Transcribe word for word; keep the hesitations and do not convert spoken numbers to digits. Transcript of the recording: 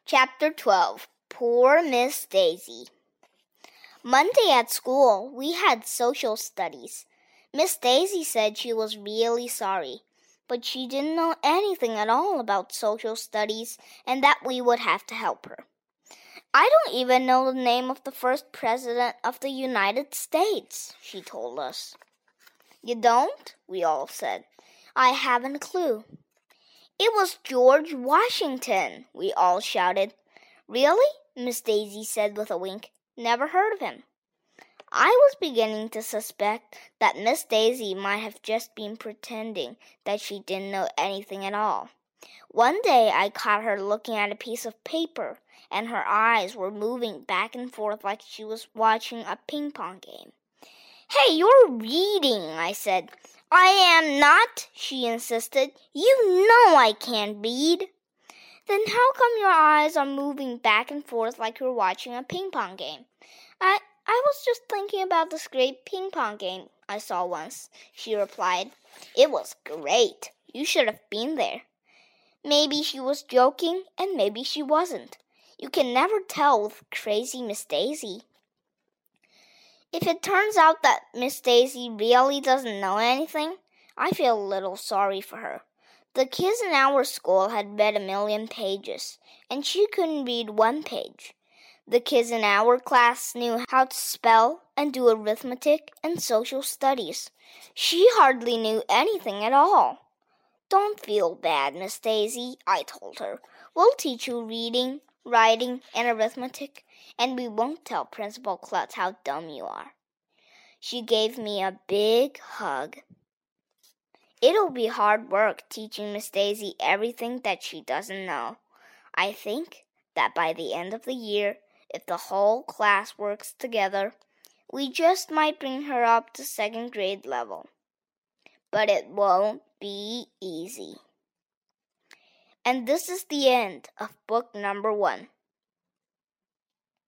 Chapter twelve. Poor Miss Daisy. Monday at school, we had social studies. Miss Daisy said she was really sorry, but she didn't know anything at all about social studies and that we would have to help her. I don't even know the name of the first president of the United States, she told us. You don't? We all said. I haven't a clue. It was George Washington, we all shouted. Really? Miss Daisy said with a wink. Never heard of him. I was beginning to suspect that Miss Daisy might have just been pretending that she didn't know anything at all. One day I caught her looking at a piece of paper, and her eyes were moving back and forth like she was watching a ping-pong game. Hey, you're reading, I said. I am not, she insisted. You know I can't read. Then how come your eyes are moving back and forth like you're watching a ping-pong game? I, I was just thinking about this great ping-pong game I saw once, she replied. It was great. You should have been there. Maybe she was joking, and maybe she wasn't. You can never tell with crazy Miss Daisy. If it turns out that Miss Daisy really doesn't know anything, I feel a little sorry for her. The kids in our school had read a million pages, and she couldn't read one page. The kids in our class knew how to spell and do arithmetic and social studies. She hardly knew anything at all. Don't feel bad, Miss Daisy, I told her. We'll teach you reading, writing, and arithmetic, and we won't tell Principal Klutz how dumb you are. She gave me a big hug. It'll be hard work teaching Miss Daisy everything that she doesn't know. I think that by the end of the year, if the whole class works together, we just might bring her up to second grade level. But it won't be easy. And this is the end of book number one.